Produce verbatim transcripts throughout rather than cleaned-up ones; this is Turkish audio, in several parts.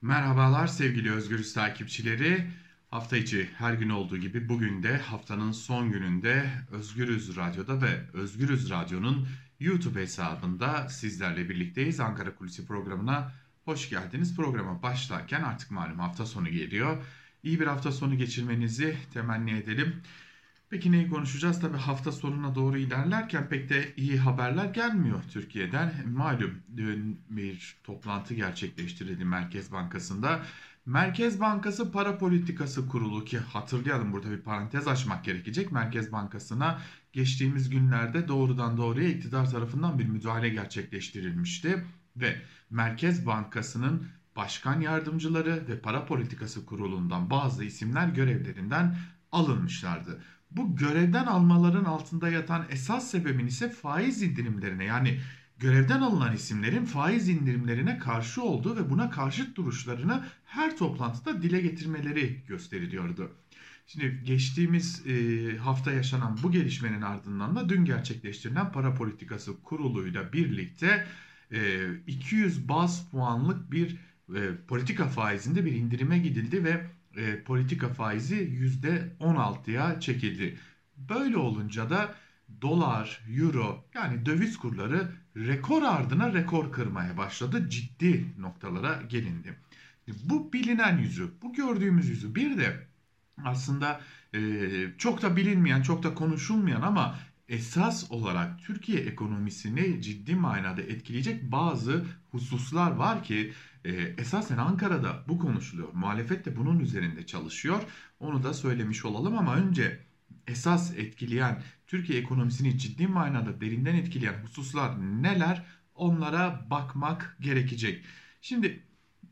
Merhabalar sevgili Özgürüz takipçileri. Hafta içi her gün olduğu gibi bugün de haftanın son gününde Özgürüz Radyo'da ve Özgürüz Radyo'nun YouTube hesabında sizlerle birlikteyiz. Ankara Kulisi programına hoş geldiniz. Programa başlarken artık malum hafta sonu geliyor. İyi bir hafta sonu geçirmenizi temenni edelim. Peki neyi konuşacağız? Tabii hafta sonuna doğru ilerlerken pek de iyi haberler gelmiyor Türkiye'den. Malum dün bir toplantı gerçekleştirildi Merkez Bankası'nda. Merkez Bankası Para Politikası Kurulu, ki hatırlayalım, burada bir parantez açmak gerekecek. Merkez Bankası'na geçtiğimiz günlerde doğrudan doğruya iktidar tarafından bir müdahale gerçekleştirilmişti. Ve Merkez Bankası'nın başkan yardımcıları ve Para Politikası Kurulu'ndan bazı isimler görevlerinden alınmışlardı. Bu görevden almaların altında yatan esas sebebin ise faiz indirimlerine, yani görevden alınan isimlerin faiz indirimlerine karşı olduğu ve buna karşıt duruşlarını her toplantıda dile getirmeleri gösteriliyordu. Şimdi geçtiğimiz e, hafta yaşanan bu gelişmenin ardından da dün gerçekleştirilen Para Politikası Kurulu'yla birlikte e, iki yüz baz puanlık bir e, politika faizinde bir indirime gidildi ve e, politika faizi yüzde on altıya çekildi. Böyle olunca da dolar, euro, yani döviz kurları rekor ardına rekor kırmaya başladı. Ciddi noktalara gelindi. Bu bilinen yüzü, bu gördüğümüz yüzü, bir de aslında e, çok da bilinmeyen, çok da konuşulmayan ama esas olarak Türkiye ekonomisini ciddi manada etkileyecek bazı hususlar var ki e, esasen Ankara'da bu konuşuluyor. Muhalefet de bunun üzerinde çalışıyor. Onu da söylemiş olalım ama önce esas etkileyen, Türkiye ekonomisini ciddi manada derinden etkileyen hususlar neler? Onlara bakmak gerekecek. Şimdi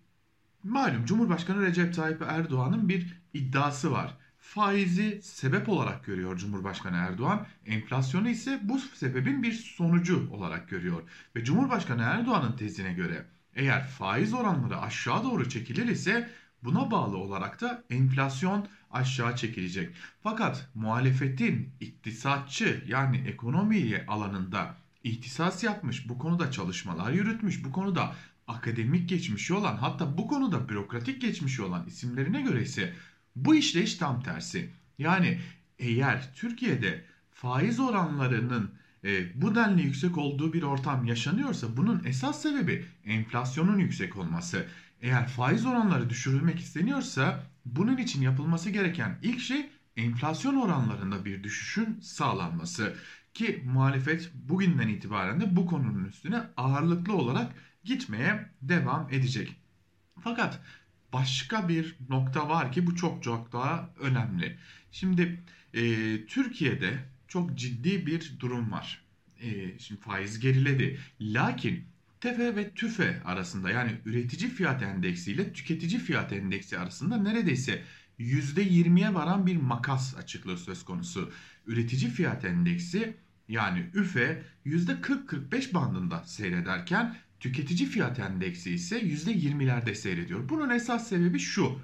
malum Cumhurbaşkanı Recep Tayyip Erdoğan'ın bir iddiası var. Faizi sebep olarak görüyor Cumhurbaşkanı Erdoğan. Enflasyonu ise bu sebebin bir sonucu olarak görüyor. Ve Cumhurbaşkanı Erdoğan'ın tezine göre eğer faiz oranları aşağı doğru çekilir ise buna bağlı olarak da enflasyon aşağı çekilecek. Fakat muhalefetin iktisatçı, yani ekonomi alanında ihtisas yapmış, bu konuda çalışmalar yürütmüş, bu konuda akademik geçmişi olan, hatta bu konuda bürokratik geçmişi olan isimlerine göre ise bu işleyiş tam tersi. Yani eğer Türkiye'de faiz oranlarının e, bu denli yüksek olduğu bir ortam yaşanıyorsa bunun esas sebebi enflasyonun yüksek olması. Eğer faiz oranları düşürülmek isteniyorsa bunun için yapılması gereken ilk şey enflasyon oranlarında bir düşüşün sağlanması. Ki muhalefet bugünden itibaren de bu konunun üstüne ağırlıklı olarak gitmeye devam edecek. Fakat başka bir nokta var ki bu çok çok daha önemli. Şimdi e, Türkiye'de çok ciddi bir durum var. E, şimdi faiz geriledi. Lakin TEFE ve TÜFE arasında, yani üretici fiyat endeksi ile tüketici fiyat endeksi arasında neredeyse yüzde yirmiye varan bir makas açıklığı söz konusu. Üretici fiyat endeksi, yani ÜFE, yüzde kırk kırk beş bandında seyrederken tüketici fiyat endeksi ise yüzde yirmilerde seyrediyor. Bunun esas sebebi şu: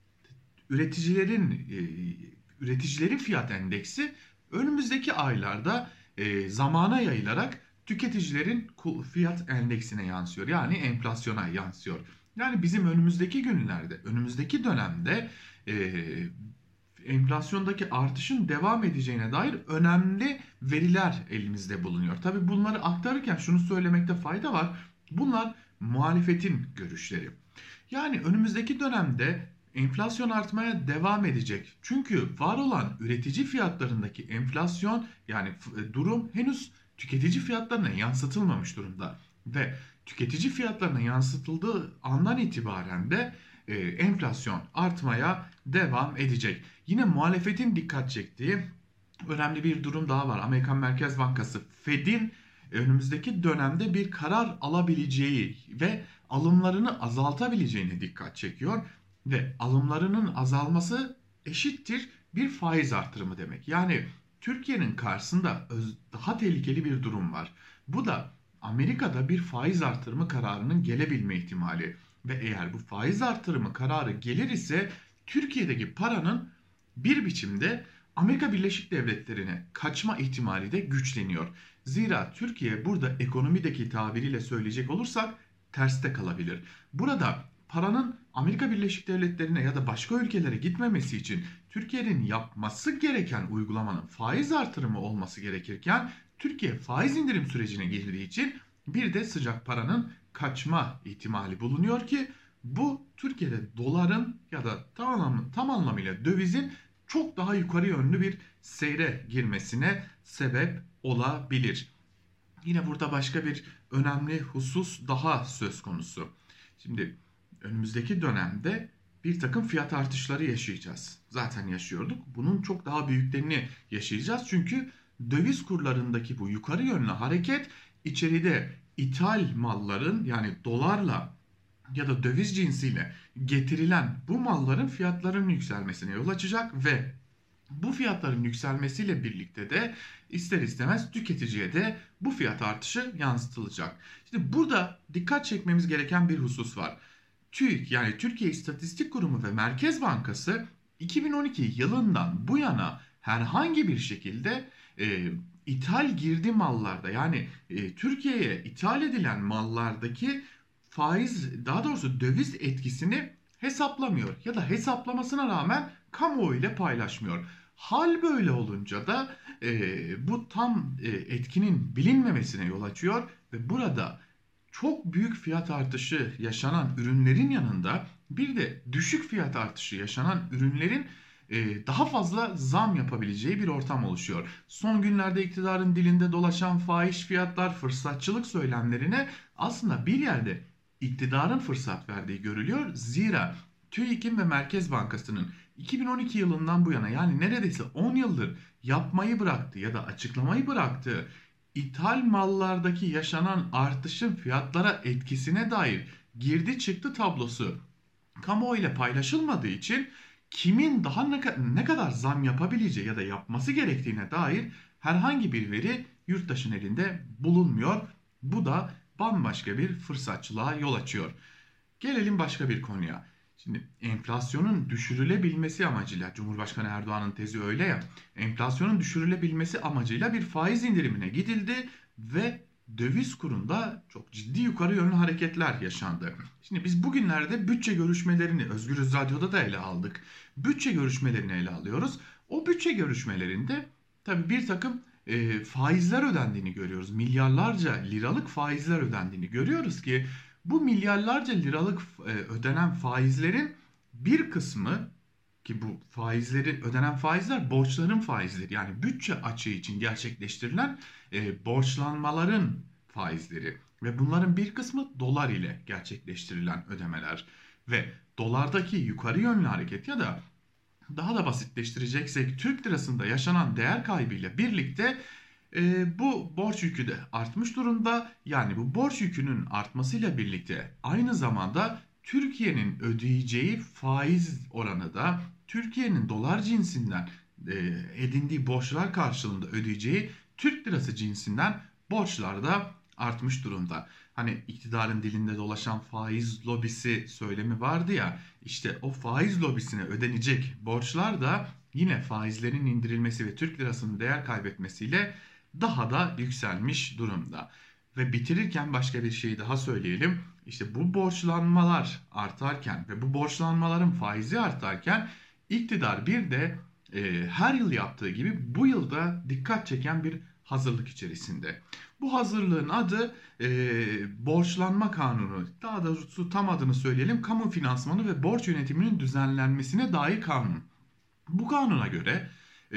üreticilerin e, üreticilerin fiyat endeksi önümüzdeki aylarda e, zamana yayılarak tüketicilerin fiyat endeksine yansıyor. Yani enflasyona yansıyor. Yani bizim önümüzdeki günlerde, önümüzdeki dönemde e, enflasyondaki artışın devam edeceğine dair önemli veriler elimizde bulunuyor. Tabii bunları aktarırken şunu söylemekte fayda var. Bunlar muhalefetin görüşleri. Yani önümüzdeki dönemde enflasyon artmaya devam edecek. Çünkü var olan üretici fiyatlarındaki enflasyon, yani durum henüz tüketici fiyatlarına yansıtılmamış durumda. Ve tüketici fiyatlarına yansıtıldığı andan itibaren de e, enflasyon artmaya devam edecek. Yine muhalefetin dikkat çektiği önemli bir durum daha var. Amerikan Merkez Bankası Fed'in önümüzdeki dönemde bir karar alabileceği ve alımlarını azaltabileceğine dikkat çekiyor. Ve alımlarının azalması eşittir bir faiz artırımı demek. Yani Türkiye'nin karşısında daha tehlikeli bir durum var. Bu da Amerika'da bir faiz artırımı kararının gelebilme ihtimali. Ve eğer bu faiz artırımı kararı gelir ise Türkiye'deki paranın bir biçimde Amerika Birleşik Devletleri'ne kaçma ihtimali de güçleniyor. Zira Türkiye burada ekonomideki tabiriyle söyleyecek olursak terste kalabilir. Burada paranın Amerika Birleşik Devletleri'ne ya da başka ülkelere gitmemesi için Türkiye'nin yapması gereken uygulamanın faiz artırımı olması gerekirken Türkiye faiz indirim sürecine girdiği için bir de sıcak paranın kaçma ihtimali bulunuyor ki bu Türkiye'de doların ya da tam, tam anlamıyla dövizin çok daha yukarı yönlü bir seyre girmesine sebep olabilir. Yine burada başka bir önemli husus daha söz konusu. Şimdi önümüzdeki dönemde bir takım fiyat artışları yaşayacağız. Zaten yaşıyorduk. Bunun çok daha büyüklerini yaşayacağız. Çünkü döviz kurlarındaki bu yukarı yönlü hareket içeride ithal malların, yani dolarla ya da döviz cinsiyle getirilen bu malların fiyatlarının yükselmesine yol açacak ve bu fiyatların yükselmesiyle birlikte de ister istemez tüketiciye de bu fiyat artışı yansıtılacak. Şimdi burada dikkat çekmemiz gereken bir husus var. TÜİK, yani Türkiye İstatistik Kurumu ve Merkez Bankası iki bin on iki yılından bu yana herhangi bir şekilde e, ithal girdi mallarda, yani e, Türkiye'ye ithal edilen mallardaki faiz, daha doğrusu döviz etkisini hesaplamıyor ya da hesaplamasına rağmen kamuoyu ile paylaşmıyor. Hal böyle olunca da e, bu tam e, etkinin bilinmemesine yol açıyor ve burada çok büyük fiyat artışı yaşanan ürünlerin yanında bir de düşük fiyat artışı yaşanan ürünlerin e, daha fazla zam yapabileceği bir ortam oluşuyor. Son günlerde iktidarın dilinde dolaşan fahiş fiyatlar, fırsatçılık söylemlerine aslında bir yerde iktidarın fırsat verdiği görülüyor. Zira TÜİK'in ve Merkez Bankası'nın iki bin on iki yılından bu yana, yani neredeyse on yıldır yapmayı bıraktığı ya da açıklamayı bıraktığı ithal mallardaki yaşanan artışın fiyatlara etkisine dair girdi çıktı tablosu kamuoyuyla paylaşılmadığı için kimin daha ne, ne kadar zam yapabileceği ya da yapması gerektiğine dair herhangi bir veri yurttaşın elinde bulunmuyor. Bu da bambaşka bir fırsatçılığa yol açıyor. Gelelim başka bir konuya. Şimdi enflasyonun düşürülebilmesi amacıyla, Cumhurbaşkanı Erdoğan'ın tezi öyle ya, enflasyonun düşürülebilmesi amacıyla bir faiz indirimine gidildi ve döviz kurunda çok ciddi yukarı yönlü hareketler yaşandı. Şimdi biz bugünlerde bütçe görüşmelerini Özgürüz Radyo'da da ele aldık. Bütçe görüşmelerini ele alıyoruz. O bütçe görüşmelerinde tabii bir takım e, faizler ödendiğini görüyoruz. Milyarlarca liralık faizler ödendiğini görüyoruz ki bu milyarlarca liralık e, ödenen faizlerin bir kısmı, ki bu faizleri ödenen faizler borçların faizleri, yani bütçe açığı için gerçekleştirilen e, borçlanmaların faizleri ve bunların bir kısmı dolar ile gerçekleştirilen ödemeler ve dolardaki yukarı yönlü hareket ya da daha da basitleştireceksek Türk lirasında yaşanan değer kaybıyla birlikte e, bu borç yükü de artmış durumda. Yani bu borç yükünün artmasıyla birlikte aynı zamanda Türkiye'nin ödeyeceği faiz oranı da Türkiye'nin dolar cinsinden e, edindiği borçlar karşılığında ödeyeceği Türk lirası cinsinden borçlar da artmış durumda. Hani iktidarın dilinde dolaşan faiz lobisi söylemi vardı ya, işte o faiz lobisine ödenecek borçlar da yine faizlerin indirilmesi ve Türk lirasının değer kaybetmesiyle daha da yükselmiş durumda. Ve bitirirken başka bir şey daha söyleyelim. İşte bu borçlanmalar artarken ve bu borçlanmaların faizi artarken iktidar bir de e, her yıl yaptığı gibi bu yılda dikkat çeken bir hazırlık içerisinde. Bu hazırlığın adı e, borçlanma kanunu. Daha doğrusu tam adını söyleyelim. Kamu finansmanı ve borç yönetiminin düzenlenmesine dair kanun. Bu kanuna göre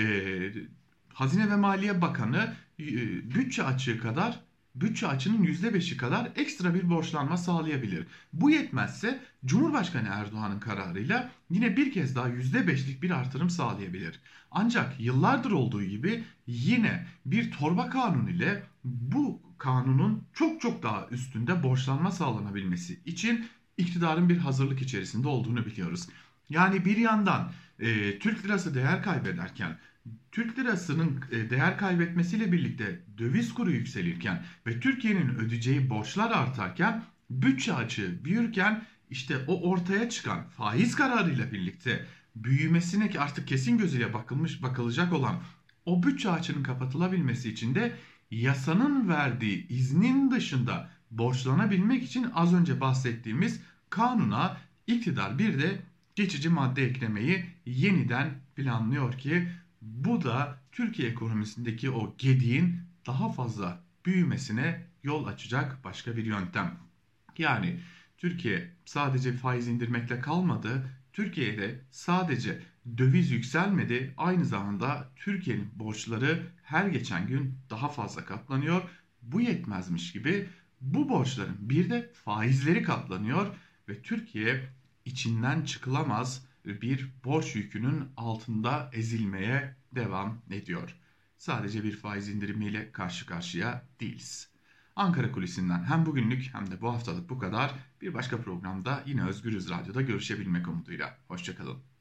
e, Hazine ve Maliye Bakanı e, bütçe açığı kadar, bütçe açının yüzde beşi kadar ekstra bir borçlanma sağlayabilir. Bu yetmezse Cumhurbaşkanı Erdoğan'ın kararıyla yine bir kez daha yüzde beşlik bir artırım sağlayabilir. Ancak yıllardır olduğu gibi yine bir torba kanun ile bu kanunun çok çok daha üstünde borçlanma sağlanabilmesi için iktidarın bir hazırlık içerisinde olduğunu biliyoruz. Yani bir yandan e, Türk lirası değer kaybederken, Türk lirasının değer kaybetmesiyle birlikte döviz kuru yükselirken ve Türkiye'nin ödeyeceği borçlar artarken, bütçe açığı büyürken, işte o ortaya çıkan faiz kararıyla birlikte büyümesine ki artık kesin gözüyle bakılmış bakılacak olan o bütçe açığının kapatılabilmesi için de yasanın verdiği iznin dışında borçlanabilmek için az önce bahsettiğimiz kanuna İktidar bir de geçici madde eklemeyi yeniden planlıyor ki bu da Türkiye ekonomisindeki o gediğin daha fazla büyümesine yol açacak başka bir yöntem. Yani Türkiye sadece faiz indirmekle kalmadı. Türkiye'de sadece döviz yükselmedi. Aynı zamanda Türkiye'nin borçları her geçen gün daha fazla katlanıyor. Bu yetmezmiş gibi bu borçların bir de faizleri katlanıyor ve Türkiye içinden çıkılamaz bir borç yükünün altında ezilmeye devam ediyor. Sadece bir faiz indirimiyle karşı karşıya değiliz. Ankara Kulisi'nden hem bugünlük hem de bu haftalık bu kadar. Bir başka programda yine Özgürüz Radyo'da görüşebilmek umuduyla. Hoşçakalın.